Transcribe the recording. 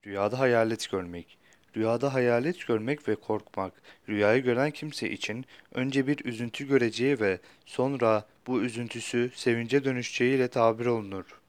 Rüyada hayalet görmek. Rüyada hayalet görmek ve korkmak, rüyayı gören kimse için önce bir üzüntü göreceği ve sonra bu üzüntüsü sevince dönüşeceğiyle tabir olunur.